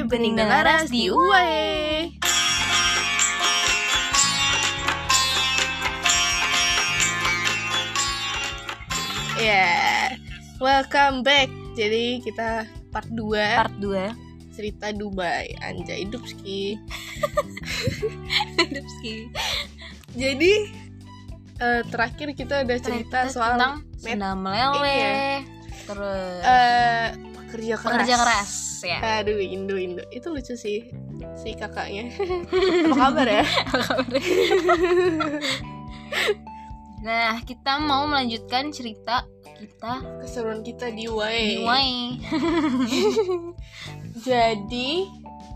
Bening dan Laras di UAE. Welcome back. Jadi kita part 2 cerita Dubai. Anjay, Dubski. Jadi terakhir kita udah cerita soal tentang sendal meleleh, terus pekerja keras ya. Aduh, Indo itu lucu sih si kakaknya. Apa kabar ya? Nah, kita mau melanjutkan cerita kita, keseruan kita di UAE. Jadi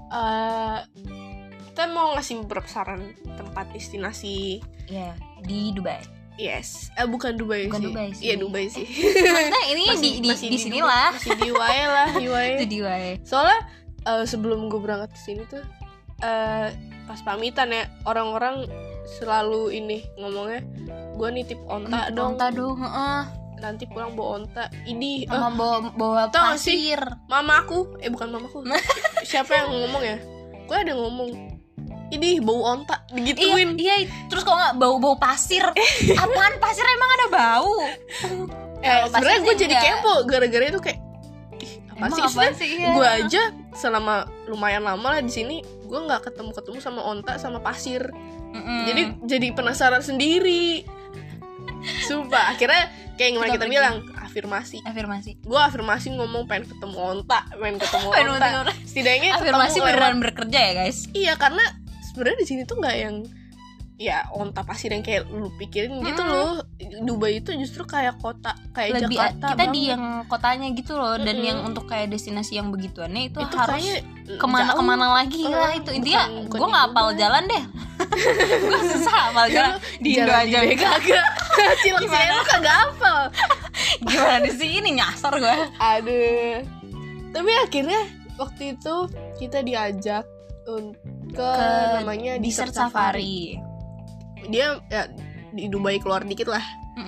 kita mau ngasih beberapa saran tempat destinasi ya di Dubai. Yes, bukan Dubai sih. Iya, Dubai sih. Nah, ini di sini lah. Masih di UAE lah, UAE. Itu di UAE. Soalnya sebelum gue berangkat ke sini tuh pas pamitan ya, orang-orang selalu ini ngomongnya, gue nitip onta dong. Nanti pulang bawa onta. Ini sama bawa pasir. Mamaku, bukan mamaku. Siapa yang ngomong ya? Gue ada ngomong, ini bau onta, digituin. Iya, terus kok nggak bau pasir? Apaan pasir, emang ada bau? Sebenarnya gue jadi kepo gara-gara itu kayak, apa sih? Gue aja selama lumayan lama lah di sini, gue nggak ketemu sama onta sama pasir. Jadi penasaran sendiri. Sumpah, akhirnya kayak gimana kita bilang, afirmasi. Gue afirmasi ngomong pengen ketemu onta. Setidaknya afirmasi ketemu beneran bekerja ya guys. Iya, karena sebenarnya di sini tuh nggak yang ya onta pasir yang kayak lu pikirin gitu loh. Dubai itu justru kayak kota, kayak lebih, Jakarta kita banget. Di yang kotanya gitu loh. Dan yang untuk kayak destinasi yang begituannya itu harus kemana lagi lah. Itu intinya gue nggak hafal jalan deh. Gue susah hafal jalan di Indo aja kagak. Cilok saya lu kagak hafal. Gimana di sini nyasar gue. Aduh. Tapi akhirnya waktu itu kita diajak ke namanya Desert Safari. Dia ya, di Dubai keluar dikit lah.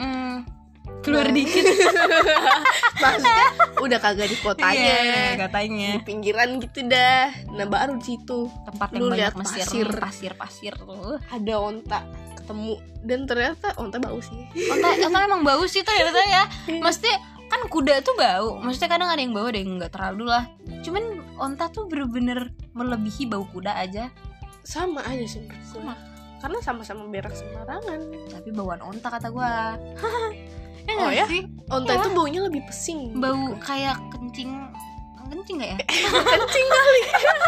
Dikit. Maksudnya udah kagak di kotanya, katanya di pinggiran gitu dah. Nah, baru di situ tempat yang banyak pasir tuh. Ada onta ketemu, dan ternyata onta bau sih. Onta emang bau sih ternyata ya. Maksudnya kan kuda tuh bau. Maksudnya kadang ada yang bau, ada yang nggak terlalu lah. Cuman onta tuh bener-bener melebihi bau kuda aja. Sama aja sih. Karena sama-sama berak sembarangan. Tapi bauan onta kata gua. Ya? Sih? Onta itu baunya lebih pesing. Bau kayak kencing gak ya? Kencing kali.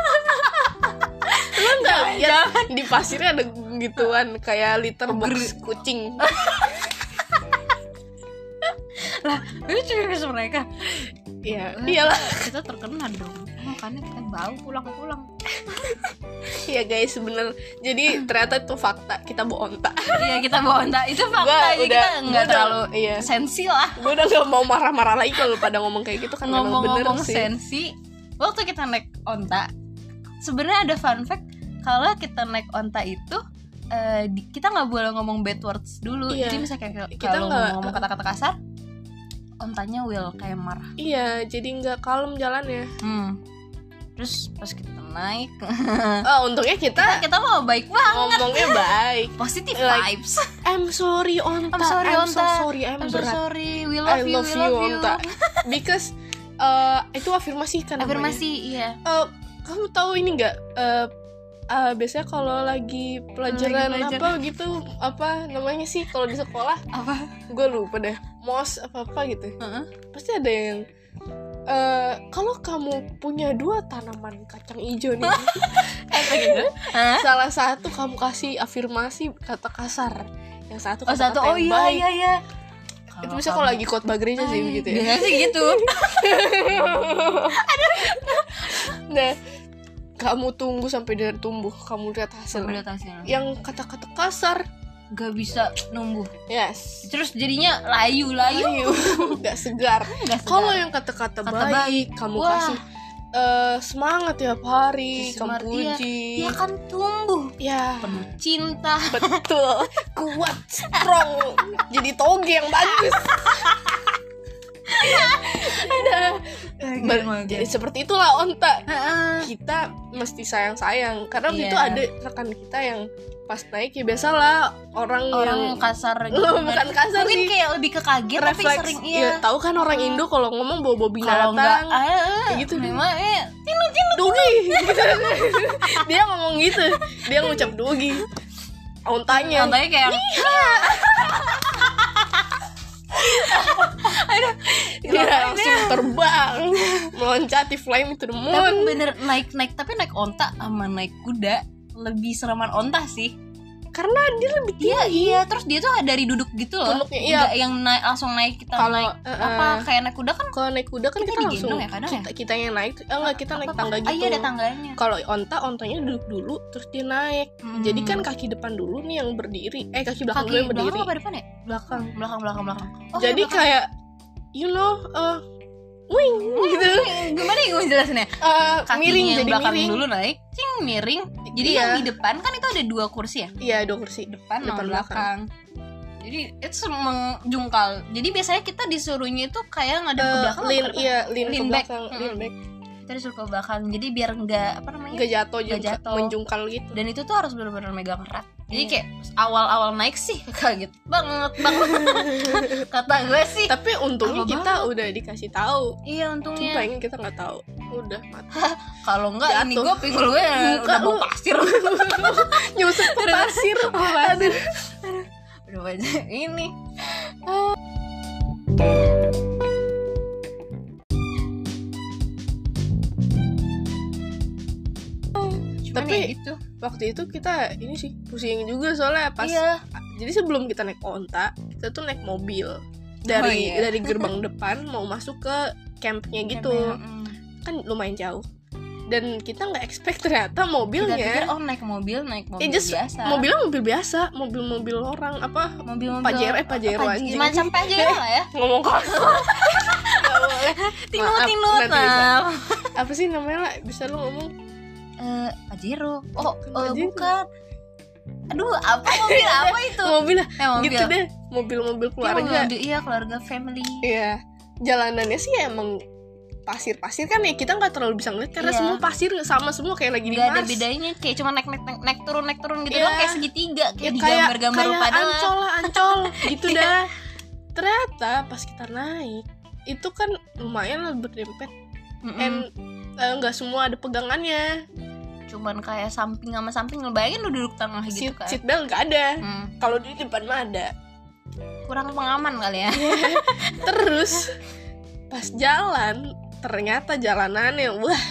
Lu gak lihat di pasirnya ada gituan kayak litter box kucing. Lah, itu cuma mereka. Iya, iyalah. Kita terkena dong. Makanya kita bau pulang-pulang. Iya guys, bener. Jadi ternyata itu fakta, kita bawa onta. Iya, kita bawa onta. Itu fakta. Kita gak terlalu sensi lah. Gue udah gak mau marah-marah lagi kalau pada ngomong kayak gitu kan. Ngomong sensi. Waktu kita naik onta, sebenarnya ada fun fact. Kalau kita naik onta itu kita gak boleh ngomong bad words dulu. Jadi misalnya kalau ngomong kata-kata kasar, ontanya will kayak marah. Iya, jadi nggak kalem jalannya. Terus pas kita naik, untungnya kita mau baik banget. Ngomongnya baik, positive vibes. I'm sorry onta. I'm so sorry. We love you onta. Because itu afirmasi kan. Afirmasi, iya. Kamu tahu ini nggak? Biasanya kalau lagi pelajaran apa gitu, apa namanya sih kalau di sekolah? Apa? Gue lupa deh. Mos apa gitu. Pasti ada yang kalau kamu punya 2 tanaman kacang hijau nih, gitu. Salah satu kamu kasih afirmasi kata kasar, yang satu kata yang baik. Iya. Itu bisa kalau lagi khotbah gereja sih begitu ya. Biasanya sih gitu. Nah, kamu tunggu sampai dia tumbuh, kamu lihat hasil. Yang kata-kata kasar gak bisa numbuh. Yes. Terus jadinya layu. Gak segar. Kalau yang kata-kata baik, kamu kasih semangat tiap hari, kamu puji. Dia kan tumbuh. Ya. Penuh cinta. Betul. Kuat, strong. Jadi toge yang bagus. Jadi seperti itulah onta. Kita mesti sayang-sayang karena itu ada rekan kita yang pas naik ya biasalah orang yang kasar gitu. Bukan kasar mungkin sih, kayak lebih ke kaget tapi sering tahu kan orang Indo kalau ngomong bawa binatang kayak gitu memang tinu dugi gitu. Dia ngomong gitu, dia ngucap dugi. Ontanya kayak dia langsung terbang meloncati flame to the moon. Tapi bener naik onta sama naik kuda lebih sereman onta sih karena dia lebih tinggi. Iya terus dia tuh dari duduk gitu loh, nggak yang langsung naik kita naik apa kayak naik kuda kan. Kalau naik kuda kan kita langsung ya, kita yang naik enggak kita naik tangga gitu. Iya ada tangganya. Kalau ontanya duduk dulu terus dia naik. Jadi kan kaki depan dulu nih yang berdiri, kaki belakang dulu yang berdiri. Belakang apa depan ya? Belakang. Jadi kayak wing gitu. Gimana ya gue jelasinnya? Miring yang jadi belakang miring. dulu naik, miring. Jadi yang di depan kan itu ada 2 kursi ya? Iya 2 kursi, depan belakang. Jadi itu menjungkal. Jadi biasanya kita disuruhnya itu kayak ngadep ke belakang. Lean back. Back. Kita disuruh ke belakang. Jadi biar nggak jatuh menjungkal gitu. Dan itu tuh harus benar-benar megang erat. Jadi kayak awal-awal naik sih kaget banget. Kata gue sih. Tapi untungnya kita udah dikasih tahu. Iya untungnya. Pengen kita nggak tahu. Udah mati. Kalau enggak ini gue pinggul gue udah bawa pasir. Nyusup ke pasir. Aduh. Udah banyak ini. Tapi gitu. Waktu itu kita ini sih pusing juga soalnya pas jadi sebelum kita naik onta kita tuh naik mobil dari gerbang depan mau masuk ke campnya gitu. Kan lumayan jauh dan kita nggak expect ternyata mobilnya kita pikir naik mobil biasa. Mobil biasa, mobil orang apa mobil Pajero anjing macam Pajero lah ya. Ngomong kosong. Tinut apa sih namanya lah, bisa lu ngomong Pajero. Bukan. Aduh, apa mobil apa itu? Mobil gitu deh, mobil keluarga. Iya, keluarga family. Iya. Jalanannya sih emang pasir-pasir kan ya, kita nggak terlalu bisa ngeliat karena semua pasir sama semua kayak lagi di Mars. Gak ada bedanya, kayak cuma naik turun gitu doang, kayak segitiga, kayak di gambar-gambar kayak Ancol gitu dah. Ternyata pas kita naik itu kan lumayan lah berdempet. Nggak semua ada pegangannya. Cuman kayak samping sama samping, ngebayangin lu duduk tengah gitu kan. Seat belt nggak ada. Kalau di depan mah ada. Kurang pengaman kali ya. Terus pas jalan ternyata jalanannya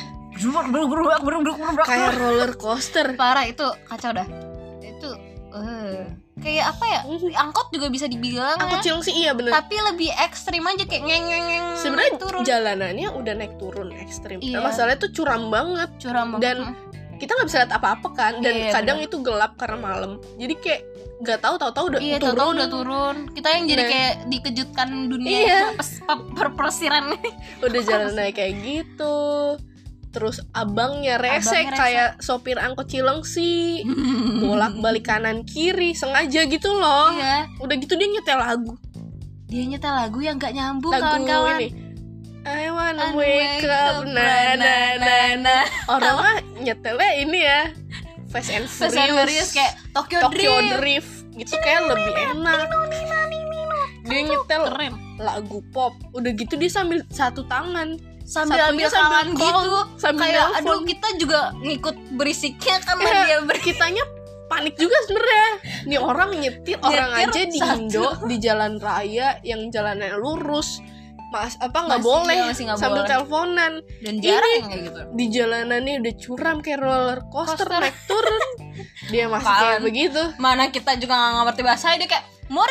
kayak roller coaster. Parah itu, kacau dah. Itu kayak apa ya? Angkot juga bisa dibilang. Angkot Cileng sih iya bener. Tapi lebih ekstrim aja kayak ngeng. Sebenarnya jalanannya udah naik turun ekstrim. Nah, masalahnya tuh curam banget. Dan kita nggak bisa lihat apa-apa kan. Dan kadang itu gelap karena malam. Jadi kayak nggak tahu udah turun. Udah turun. Kita yang jadi kayak dikejutkan dunia persiran. Udah jalan naik kayak gitu. Terus abangnya rese kayak sopir angkot Cileng sih. Bolak-balik kanan kiri sengaja gitu loh. Udah gitu dia nyetel lagu. Yang gak nyambung kawan-kawan. I wanna wake up na. Orang mah nyetelnya ini ya Fast and Furious kayak Tokyo Drift gitu kayak lebih enak. Dia nyetel lagu pop. Udah gitu dia sambil satu tangan sambil ambil kawan gitu kayak aduh kita juga ngikut berisiknya karena dia kitanya panik juga sebenarnya. Nih orang nyetir orang aja di Indo di jalan raya yang jalannya lurus nggak boleh sambil teleponan. Dan jarang kayak gitu. Di jalanannya udah curam kayak roller coaster. Naik turun dia masih kayak begitu. Mana kita juga nggak ngerti bahasa dia kayak mau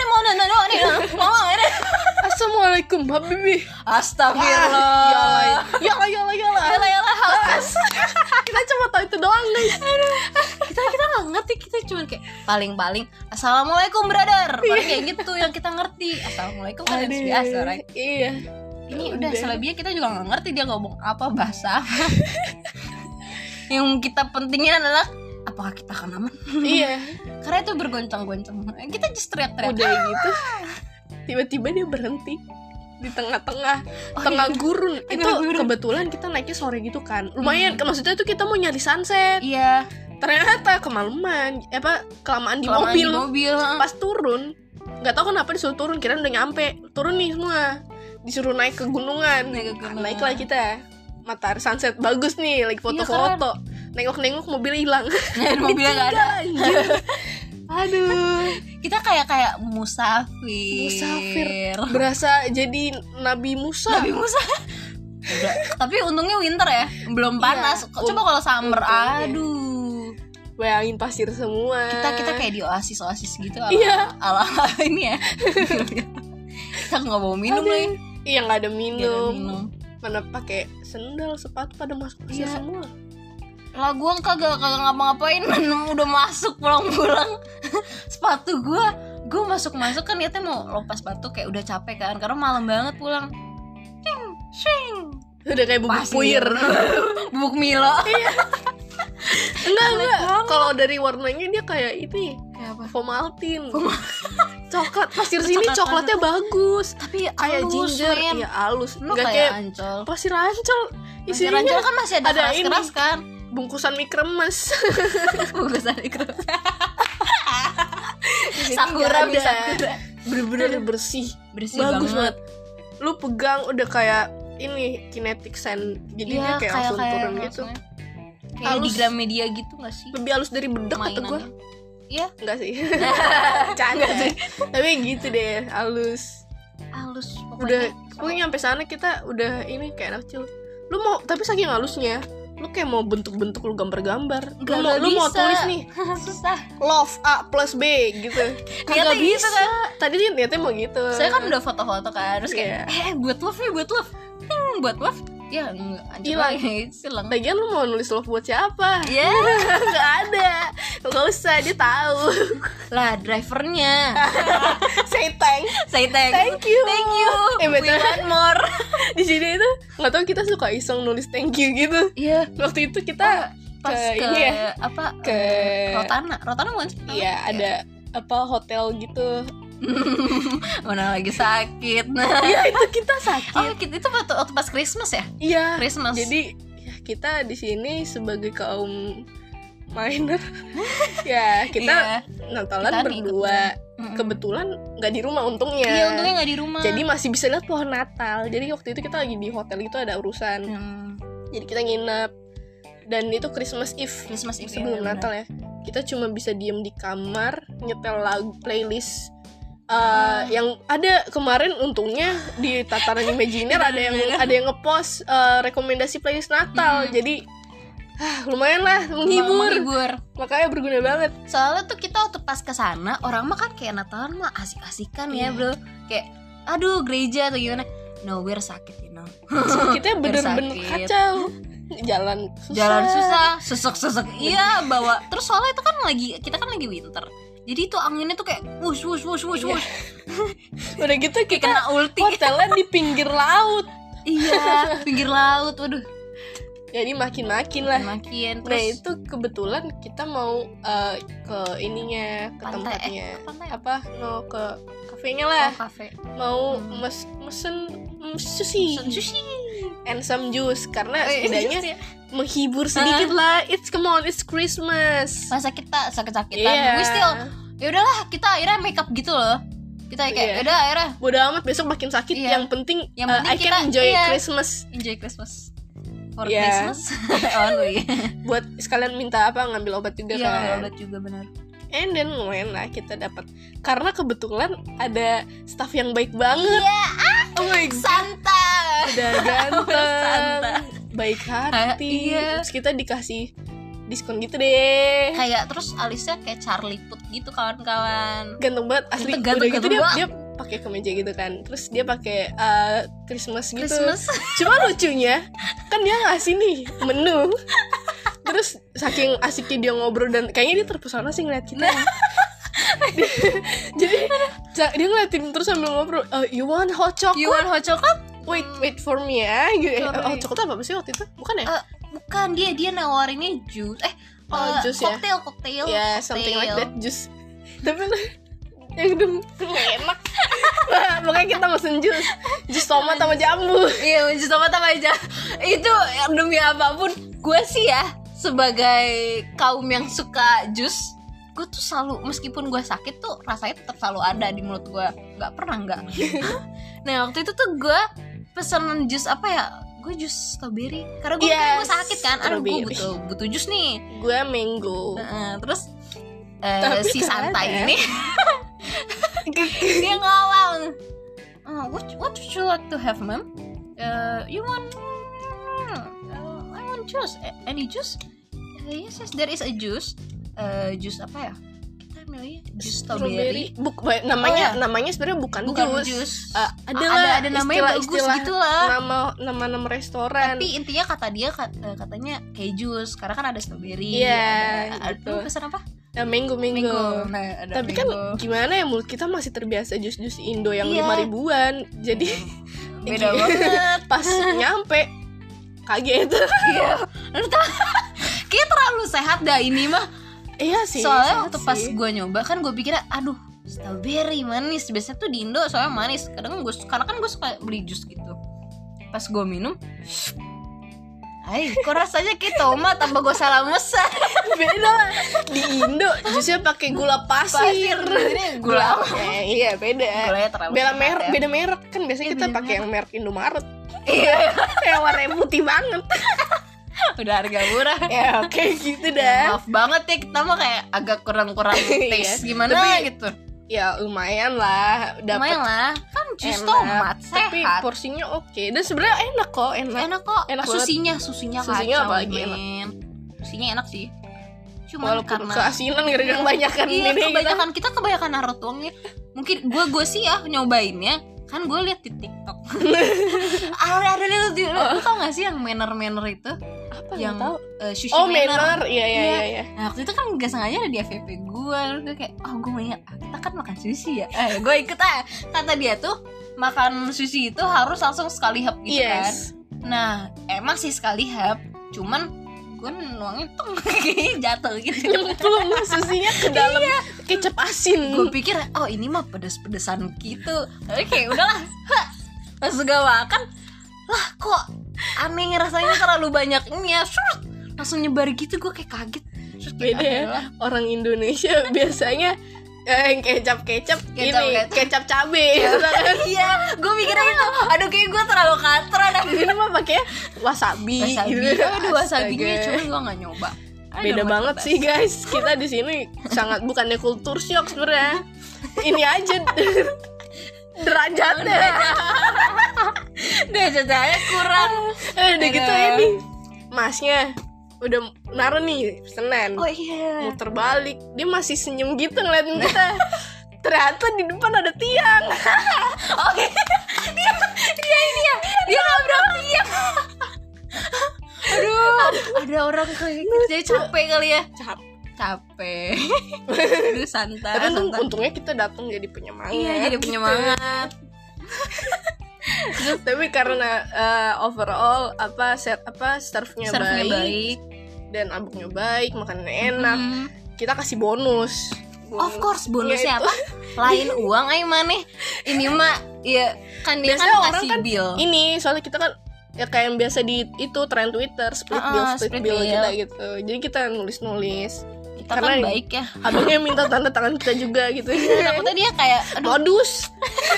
Assalamualaikum habibi. Astagfirullah. Yalah. Kita cuma tahu itu doang guys. Kita nggak ngerti, kita cuma kayak paling Assalamualaikum brother. Paling kayak gitu yang kita ngerti. Assalamualaikum kan biasa, right? Iya. Ini udah selebihnya kita juga nggak ngerti dia ngomong apa bahasa. Yang kita pentingin adalah apakah kita akan aman? Iya. Karena itu bergoncang-goncang. Kita just teriak-teriak. Udah gitu. Tiba-tiba dia berhenti. di tengah-tengah tengah gurun. Itu kebetulan kita naiknya sore gitu kan, lumayan. Maksudnya tuh kita mau nyari sunset. Iya. Ternyata kelamaan di mobil. Pas turun nggak tahu kenapa disuruh turun, kirain udah nyampe. Turun nih semua, disuruh naik ke gunungan. Naiklah kita, matahari sunset bagus nih, lagi foto-foto. Nengok-nengok mobil hilang. Mobilnya nggak ada. Aduh, kita kayak musafir. Berasa jadi Nabi Musa. Udah. Tapi untungnya winter ya, belum panas. Coba kalau summer, aduh, bayangin pasir semua. Kita kayak di oasis gitu. Ala ini ya. Kita nggak bawa minum lagi. Iya, nggak ada minum. Mana pakai sendal, sepatu pada masuk pasir semua. Lah gue kagak ngapa-ngapain, udah masuk pulang-pulang. Sepatu gue masuk kan niatnya mau lepas sepatu, kayak udah capek kan karena malam banget pulang. Shing. Udah kayak bubuk puyer. Bubuk Milo. Enggak. Kalau dari warnanya dia kayak ini. Kayak apa? Vomaltin. Coklat. Pasir sini coklatnya bagus. Tapi kayak ginger, ya halus. Enggak kayak Ancol. Pasir Ancol. Pasir Ancol kan masih ada keras-keras kan. Bungkusan mie kremes. Sakura bisa. Bener-bener bersih bagus banget. Lu pegang udah kayak ini kinetic sand. Jadi dia kayak langsung turun gitu. Kayak di Gramedia gitu gak sih? Lebih halus dari bedak kata gue. Iya? Enggak sih. Canda sih. Tapi gitu deh, halus pokoknya. Udah nyampe sana kita udah ini kayak anak kecil. Lu mau, tapi saking halusnya, lu kayak mau bentuk-bentuk, lu gambar-gambar. Lu mau tulis nih. Susah. Love A plus B gitu. Kagak bisa kan. Tadi dia niatnya mau gitu. Saya kan udah foto-foto kan, terus kayak buat love. Buat love. Ya hilang. Lagian lu mau nulis love buat siapa? Ya nggak ada. Nggak usah, dia tahu. Lah drivernya. Say thank you. We want more. Di sini itu nggak tahu kita suka iseng nulis thank you gitu. Iya. Waktu itu kita pas ke ini ya, ke Rotana bukan sih? Iya, ada apa hotel gitu. Mana lagi sakit. Iya, itu kita sakit. Oh, itu waktu pas Christmas ya? Iya. Christmas. Jadi kita di sini sebagai kaum minor ya kita Natalan berdua. Kebetulan nggak di rumah untungnya. Iya, untungnya nggak di rumah. Jadi masih bisa lihat pohon Natal. Jadi waktu itu kita lagi di hotel itu ada urusan. Jadi kita nginep. Dan itu Christmas Eve sebelum Natal ya. Kita cuma bisa diem di kamar nyetel lagu playlist. Yang ada kemarin untungnya di Tataran Imaginer ada yang ngepost rekomendasi playlist Natal. Jadi lumayan lah menghibur. Makanya berguna banget. Soalnya tuh kita waktu pas kesana orang mah kan kayak Natalan mah asik-asikan ya bro. Kayak aduh gereja atau gimana. No, we're sakit Sakitnya bener-bener kacau. Jalan susah, sesek. Iya, bawa. Terus soalnya itu kan kita kan lagi winter. Jadi itu anginnya tuh kayak wush. Udah gitu kita kena ulti. Hotelnya di pinggir laut. Iya, pinggir laut. Waduh. Jadi makin lah. Terus, nah itu kebetulan kita mau ke ininya, ke pantai, tempatnya. Pantai. Apa? No, ke kafenya lah. Kafe. Mau mesen sushi. And some juice karena setidaknya menghibur sedikit lah. It's Christmas. Masa kita sakit-sakitan. We still ya udahlah, kita akhirnya make up gitu loh. Kita kayak udah akhirnya bodo amat besok makin sakit. Yang penting I can enjoy Christmas. Enjoy Christmas. For Christmas only. Buat sekalian minta ngambil obat juga kan. Ngambil obat juga benar. And then lumayan lah kita dapat, karena kebetulan ada staff yang baik banget. Oh my god. Santa. Udah ganteng, baik hati. Terus kita dikasih diskon gitu deh. Kayak terus alisnya kayak Charlie Puth gitu kawan-kawan. Ganteng banget asli. Udah gitu dia pakai kemeja gitu kan. Terus dia pakai Christmas gitu. Cuma lucunya kan dia ngasih nih menu. Terus saking asiknya dia ngobrol dan kayaknya dia terpesona sih ngeliat kita. Jadi dia ngeliatin terus sambil ngobrol. You want hot chocolate? Wait for me ya. Hot chocolate apa sih waktu itu? Bukan ya? Bukan, dia nawarinnya jus. Jus cocktail. Ya, something like that, jus. Tapi yang dong enak. Pokoknya kita mesen jus tomat sama jambu. Iya, jus tomat sama jambu. Itu demi apapun, gue sih ya sebagai kaum yang suka jus, gue tuh selalu, meskipun gue sakit tuh rasanya tetap selalu ada di mulut gue, nggak pernah nggak. Nah waktu itu tuh gue pesen jus apa ya, gue jus strawberry karena gue sakit kan, gue butuh jus nih. Gue mango. Terus si santai ini dia ngomong, what would you like to have, ma'am? You want I want juice. Any juice? Yes, there is a juice. Jus apa ya? Kita milih jus strawberry. Namanya sebenarnya bukan jus. Ada namanya bagus gitu lah. Nama restoran. Tapi intinya katanya kayak jus karena kan ada strawberry. Iya. Aduh, pesan apa? Ya, mango. Nah, ada tapi mango. Kan gimana ya, mulut kita masih terbiasa jus-jus Indo yang 5.000-an. Jadi beda banget. Pas nyampe kaget. Iya. Kayak terlalu sehat dah ini mah. Iya sih. Soalnya waktu pas gue nyoba kan gue pikir aduh strawberry manis. Biasanya tuh di Indo soalnya manis. Karena kan gue suka beli jus gitu. Pas gue minum, kok rasanya kayak tomat tanpa gue salah mesen. Beda lah. Di Indo jusnya pakai gula pasir. Ini gula apa? Iya beda. Gulanya terlalu beda merek kan biasanya kita pakai yang merek Indomaret. Iya. Yang warnanya putih banget. Udah harga murah. Ya oke gitu dah. Maaf banget ya, kita mah kayak agak kurang taste gimana tapi, gitu. Ya lumayan lah. Lumayan lah. Kan jus tomat sehat. Tapi porsinya oke. Dan sebenarnya enak kok. Enak susinya kacau, apalagi enak. Susinya enak sih. Cuma walaupun karena keasinan gara-gara kebanyakan kita kebanyakan naruh tuangnya. Mungkin gue sih ya nyobainnya kan gue liat di TikTok. ada lu tau gak sih yang manner itu? Apa yang tahu? Sushi manner. Iya. Nah waktu itu kan gak sengaja ada di FYP gue. Lalu gue kayak gue mau ingat kita kan makan sushi ya. Gue ikut aja. Kata dia tuh makan sushi itu harus langsung sekali hap gitu kan. Nah emang sih sekali hap, cuman gue nuangnya tuh kayak jatuh gitu, nyemplung susinya ke dalam kecap asin. Gue pikir ini mah pedes-pedesan gitu. Tapi kayak udahlah. Pas gue makan lah kok aneh rasanya, terlalu banyak ini ya, langsung nyebar gitu. Gue kayak kaget. Beda ya, orang Indonesia biasanya yang kecap cabe gitu kan. Iya, gue mikirnya itu. Aduh kayak gue terlalu katro dah. Di sini mah pakai wasabi gitu. Aduh wasabinya cuma gue nggak nyoba. Beda banget sih guys. Kita di sini sangat bukannya kultur shock sebenarnya. Ini aja derajatnya kurang. Udah gitu ini masnya udah naruh nih pesanan. Muter balik, dia masih senyum gitu ngeliatin kita. Ternyata di depan ada tiang. Oke. Dia nabrak tiang. Aduh, ada orang kerja capek kali ya. Capek. Aduh santai. Tapi untungnya kita datang jadi penyemangat. Iya, jadi penyemangat. Tapi karena overall serve-nya baik dan abuknya baik, makanannya enak, kita kasih bonus. Of course, bonusnya apa? Lain uang mana? Ini mah ya kan dia biasanya kan kasih kan bill. Ini soalnya kita kan ya kayak yang biasa di itu tren Twitter split bill kita gitu. Jadi kita nulis. Kita karena kan baik ya. Abangnya minta tanda tangan kita juga gitu. Takutnya dia kayak modus.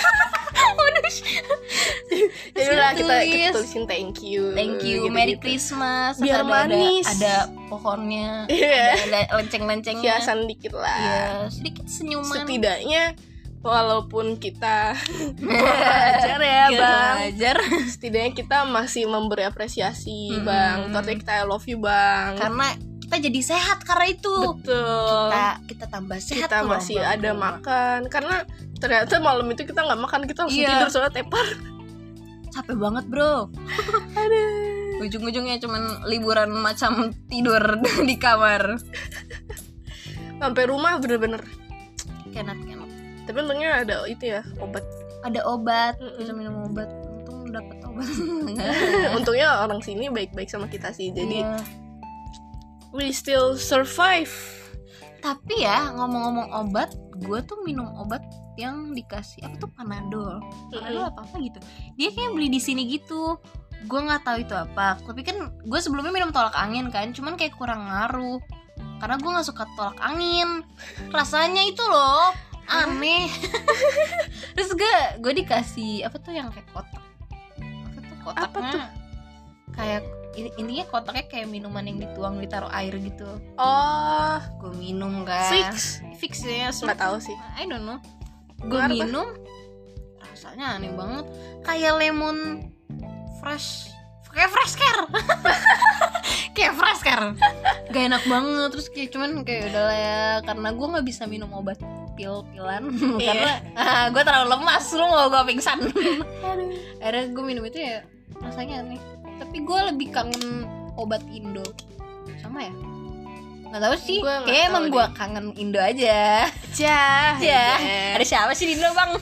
Jadi lah kita tulisin thank you gitu, Merry Christmas. Biar manis. Ada pohonnya, ada lenceng-lencengnya, hiasan dikit lah. Iya, sedikit senyuman. Setidaknya walaupun kita belajar ya bang, setidaknya kita masih memberi apresiasi bang. Artinya kita I love you bang. Karena kita jadi sehat karena itu. Betul. Kita tambah sehat. Kita masih ada makan. Karena ternyata malam itu kita nggak makan, kita langsung tidur soalnya tepar. Capek banget bro. Aduh. Ujung-ujungnya cuman liburan macam tidur di kamar. Sampai rumah bener-bener Kenat. Tapi untungnya ada itu ya, obat. Ada obat, bisa minum obat. Untung dapet obat. Untungnya orang sini baik-baik sama kita sih. Jadi we still survive. Tapi ya ngomong-ngomong obat, gue tuh minum obat yang dikasih apa tuh Panadol apa gitu. Dia kayak beli di sini gitu. Gue nggak tahu itu apa. Tapi kan gue sebelumnya minum tolak angin kan, cuman kayak kurang ngaruh. Karena gue nggak suka tolak angin. Rasanya itu loh aneh. Terus gue dikasih apa tuh yang kayak kotak. Apa tuh kotaknya? Apa tuh? Kayak intinya kotaknya kayak minuman yang ditaruh air gitu. Oh, gue minum kan. Fix ya, nggak tahu sih. I don't know. Gue minum, rasanya aneh banget. Kayak lemon fresh, kayak fresh care. Kayak fresh care. Gak enak banget. Terus kayak cuman kayak udah lah ya, karena gue nggak bisa minum obat pil-pilan karena gue terlalu lemas, lu mau gue pingsan. Akhirnya gue minum itu ya rasanya aneh. Tapi gue lebih kangen obat Indo. Sama ya? Gak tahu sih. Kayak emang gue kangen Indo aja. Ada siapa sih di Indo bang?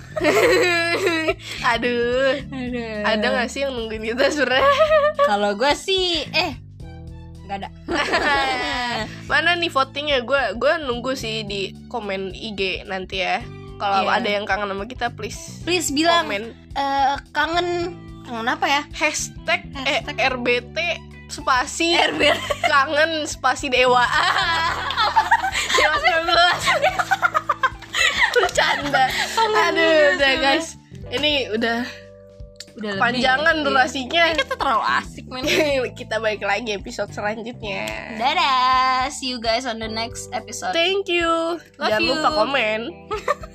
Aduh. Ada gak sih yang nungguin kita sebenernya? Kalau gue sih gak ada. Mana nih votingnya? Gue nunggu sih di komen IG nanti ya. Kalau ada yang kangen sama kita please bilang komen. Kangen apa ya? Hashtag RBT spasi kangen spasi dewa. Dewa 19. Bercanda. Aduh udah guys, ini udah panjangan durasinya. Kita terlalu asik men. Kita balik lagi episode selanjutnya. Dadah, see you guys on the next episode. Thank you. Jangan lupa komen.